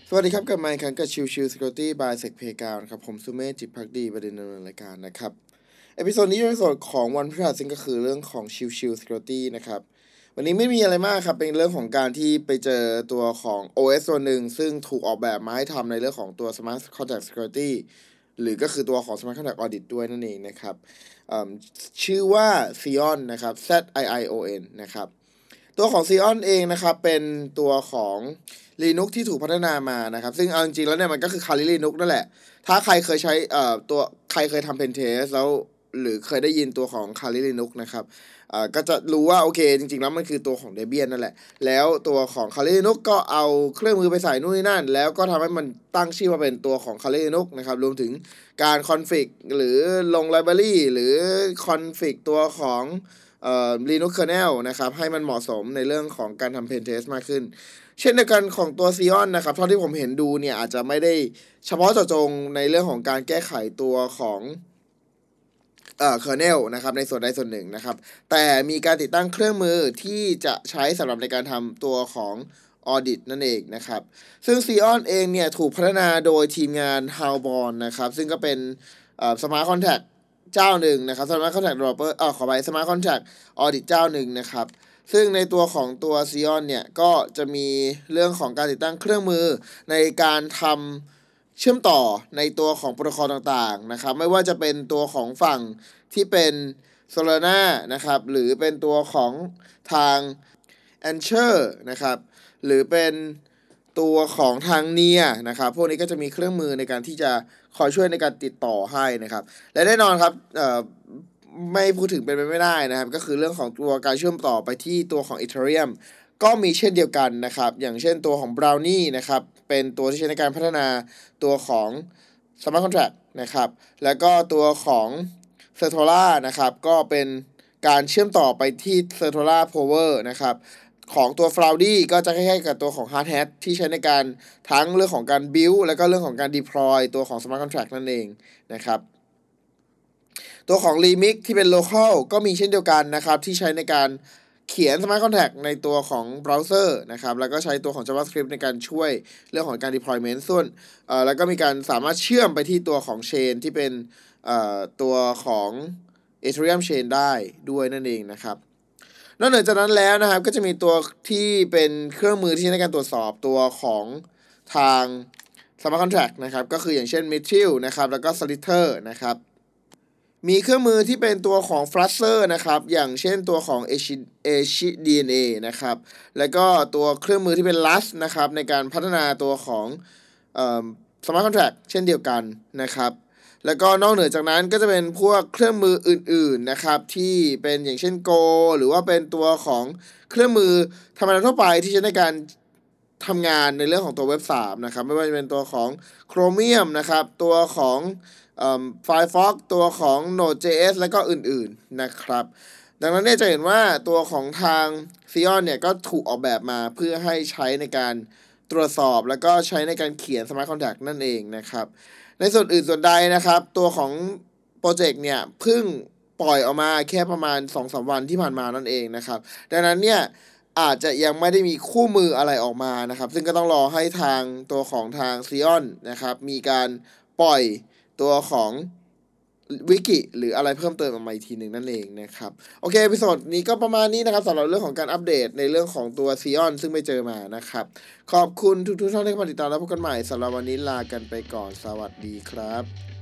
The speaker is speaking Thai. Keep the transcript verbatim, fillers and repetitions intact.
สวัสดีครับกับไมค์ครั้งกับชิวชิว Security by Sec Playground ครับผมสุเมธจิตภักดีประเด็นดำเนินรายการนะครับเอพิโซดนี้เป็นเอพิโซดของวันพฤหัสซึ่งก็คือเรื่องของชิวชิว Security นะครับวันนี้ไม่มีอะไรมากครับเป็นเรื่องของการที่ไปเจอตัวของ โอ เอส ตัวหนึ่งซึ่งถูกออกแบบมาให้ทำในเรื่องของตัว Smart Contract Security หรือก็คือตัวของ Smart Contract Audit ด้วยนั่นเองนะครับชื่อว่า Sion นะครับ Z I I O N นะครับตัวของ Sion เองนะครับเป็นตัวของ Linux ที่ถูกพัฒนามานะครับซึ่งเอาจริงๆแล้วเนี่ยมันก็คือ Kali Linux นั่นแหละถ้าใครเคยใช้เอ่อตัวใครเคยทำ Pentest แล้วหรือเคยได้ยินตัวของ Kali Linux นะครับเอ่อก็จะรู้ว่าโอเคจริงๆแล้วมันคือตัวของ Debian นั่นแหละแล้วตัวของ Kali Linux ก็เอาเครื่องมือไปใส่นู่นนี่นั่นแล้วก็ทำให้มันตั้งชื่อมาเป็นตัวของ Kali Linux นะครับรวมถึงการคอนฟิกหรือลง library หรือคอนฟิกตัวของเอ่อ Linux kernel นะครับให้มันเหมาะสมในเรื่องของการทำ Pentest มากขึ้นเช่นเดียวกันของตัว Sion นะครับเท่าที่ผมเห็นดูเนี่ยอาจจะไม่ได้เฉพาะเจาะจงในเรื่องของการแก้ไขตัวของเอ่อ kernel นะครับในส่วนใดส่วนหนึ่งนะครับแต่มีการติดตั้งเครื่องมือที่จะใช้สำหรับในการทำตัวของ audit นั่นเองนะครับซึ่ง Sion เองเนี่ยถูกพัฒนาโดยทีมงาน Howborn นะครับซึ่งก็เป็นเอ่อ Smart Contract เจ้าหนึ่งนะครับ Smart Contract Developer เอ่อขอไป Smart Contract Audit เจ้าหนึ่งนะครับซึ่งในตัวของตัว Sion เนี่ยก็จะมีเรื่องของการติดตั้งเครื่องมือในการทำเชื่อมต่อในตัวของโปรโตคอลต่างๆนะครับไม่ว่าจะเป็นตัวของฝั่งที่เป็น Solana นะครับหรือเป็นตัวของทาง Anchor นะครับหรือเป็นตัวของทาง Near นะครับพวกนี้ก็จะมีเครื่องมือในการที่จะคอยช่วยในการติดต่อให้นะครับและแน่นอนครับเอ่อไม่พูดถึงเป็นไปไม่ได้นะครับก็คือเรื่องของตัวการเชื่อมต่อไปที่ตัวของ Ethereum ก็มีเช่นเดียวกันนะครับอย่างเช่นตัวของ Brownie นะครับเป็นตัวที่ใช้ในการพัฒนาตัวของ Smart Contract นะครับแล้วก็ตัวของ Certola นะครับก็เป็นการเชื่อมต่อไปที่ Certola Power นะครับของตัว Floudy ก็จะคล้ายๆกับตัวของ Hard Hat ที่ใช้ในการทั้งเรื่องของการ build แล้วก็เรื่องของการ deploy ตัวของ Smart Contract นั่นเองนะครับตัวของ Remix ที่เป็น local ก็มีเช่นเดียวกันนะครับที่ใช้ในการเขียน Smart Contract ในตัวของเบราว์เซอร์นะครับแล้วก็ใช้ตัวของ JavaScript ในการช่วยเรื่องของการ deployment ส่วนเอ่อแล้วก็มีการสามารถเชื่อมไปที่ตัวของ Chain ที่เป็นเอ่อตัวของ Ethereum Chain ได้ด้วยนั่นเองนะครับนอกจากนั้นแล้วนะครับก็จะมีตัวที่เป็นเครื่องมือที่ใช้ในการตรวจสอบตัวของทาง Smart Contract นะครับก็คืออย่างเช่น Mithril นะครับแล้วก็ Solidity นะครับมีเครื่องมือที่เป็นตัวของ Flusher นะครับอย่างเช่นตัวของ HDNA นะครับแล้วก็ตัวเครื่องมือที่เป็น Rust นะครับในการพัฒนาตัวของเอ่อ Smart Contract เช่นเดียวกันนะครับแล้วก็นอกเหนือจากนั้นก็จะเป็นพวกเครื่องมืออื่นๆนะครับที่เป็นอย่างเช่น Go หรือว่าเป็นตัวของเครื่องมือธรรมดาทั่วไปที่ใช้ในการทำงานในเรื่องของตัวเว็บ สามนะครับไม่ว่าจะเป็นตัวของ Chromium นะครับตัวของเอ่อ Firefox ตัวของ Node.js และก็อื่นๆนะครับดังนั้นเนี่ยจะเห็นว่าตัวของทาง Sion เนี่ยก็ถูกออกแบบมาเพื่อให้ใช้ในการตรวจสอบแล้วก็ใช้ในการเขียน Smart Contract นั่นเองนะครับในส่วนอื่นส่วนใดนะครับตัวของโปรเจกต์เนี่ยเพิ่งปล่อยออกมาแค่ประมาณ สองถึงสาม วันที่ผ่านมานั่นเองนะครับดังนั้นเนี่ยอาจจะยังไม่ได้มีคู่มืออะไรออกมานะครับซึ่งก็ต้องรอให้ทางตัวของทาง Sion นะครับมีการปล่อยตัวของวิกิหรืออะไรเพิ่มเติมออกมาอีกทีหนึ่งนั่นเองนะครับโอเคเอพิโซดนี้ก็ประมาณนี้นะครับสำหรับเรื่องของการอัปเดตในเรื่องของตัว Sion ซึ่งไม่เจอมานะครับขอบคุณทุกๆท่านที่เข้ามาติดตามและพบกันใหม่สำหรับวันนี้ลากันไปก่อนสวัสดีครับ